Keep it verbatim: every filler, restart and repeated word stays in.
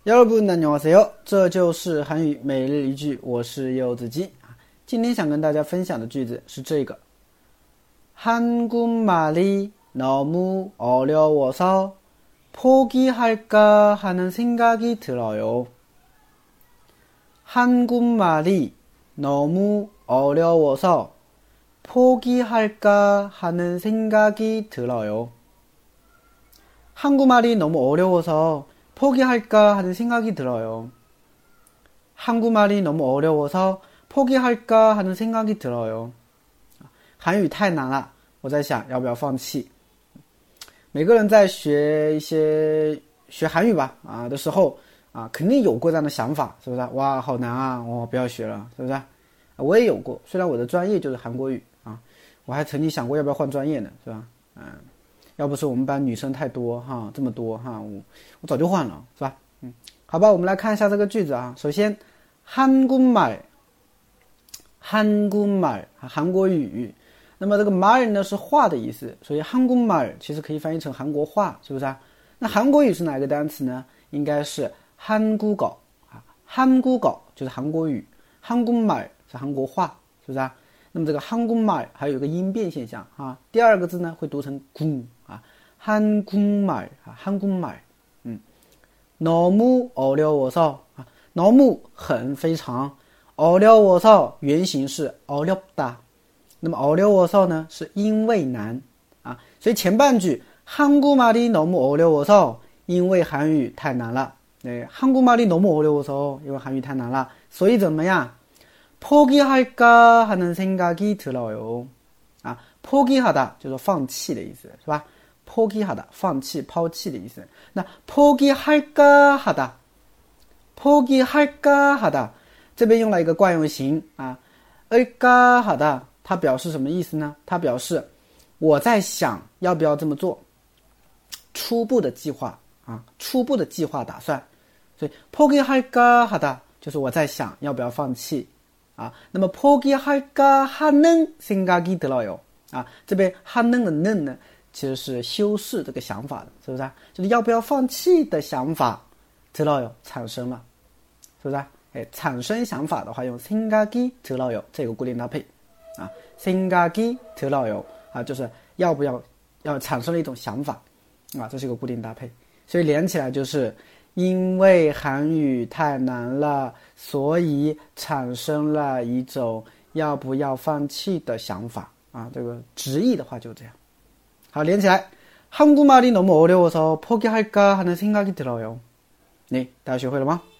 여러분 안녕하세요，这就是韩语每日一句，我是柚子鸡。今天想跟大家分享的句子是这个 한국말이 너무 어려워서 포기할까 하는 생각이 들어요. 한국말이 너무 어려워서 포기할까 하는 생각이 들어요. 한국말이 너무 어려워서 포기할까 하는 생각이 들어요. 한국말이 너무 어려워서 포기할까 하는 생각이 들어요. 韩语太难了，我在想要不要放弃。每个人在学一些学韩语吧啊的时候啊，肯定有过这样的想法，是不是？哇，好难啊，我、哦、不要学了，是不是？我也有过，虽然我的专业就是韩国语啊，我还曾经想过要不要换专业呢，是吧？嗯。要不是我们班女生太多哈，这么多哈，我我早就换了，是吧？嗯，好吧，我们来看一下这个句子啊。首先，한국말，한국말韩国语。那么这个말呢是话的意思，所以한국말其实可以翻译成韩国话，是不是啊？那韩国语是哪一个单词呢？应该是한국어啊，한국어就是韩国语，한국말是韩国话，是不是啊？那么这个한국말还有一个音变现象啊，第二个字呢会读成구啊，한국말啊，한국말，嗯，너무 어려워서啊，너무很非常，어려워서原型是어렵다，那么어려워서呢是因为难啊，所以前半句한국말이 너무 어려워서因为韩语太难了，对，한국말이 너무 어려워서因为韩语太难了，所以怎么样？ 포기할까 하는 생각이 들어요. 아, 포기하다 就是放弃的意思，是吧？ 포기하다 放弃抛弃的意思。那 포기할까 하다 포기할까 하다 这边用了一个惯用型啊 을까 하다 它表示什么意思呢？它表示我在想要不要这么做，初步的计划啊，初步的计划打算。所以 포기할까 하다 就是我在想要不要放弃啊，那么 포기할까 하는 생각이 들어요啊，这边하는的는呢，其实是修饰这个想法的，是不是啊？就是要不要放弃的想法 들어요产生了，是不是啊？哎，产生想法的话用생각이 들어요这个固定搭配啊，생각이 들어요啊，就是要不要要产生了一种想法啊，这是一个固定搭配，所以连起来就是。因为韩语太难了，所以产生了一种要不要放弃的想法啊，这个直译的话就这样。好，连起来。한국말이 너무 어려워서 포기할까 하는 생각이 들어요. 네, 大家学会了吗？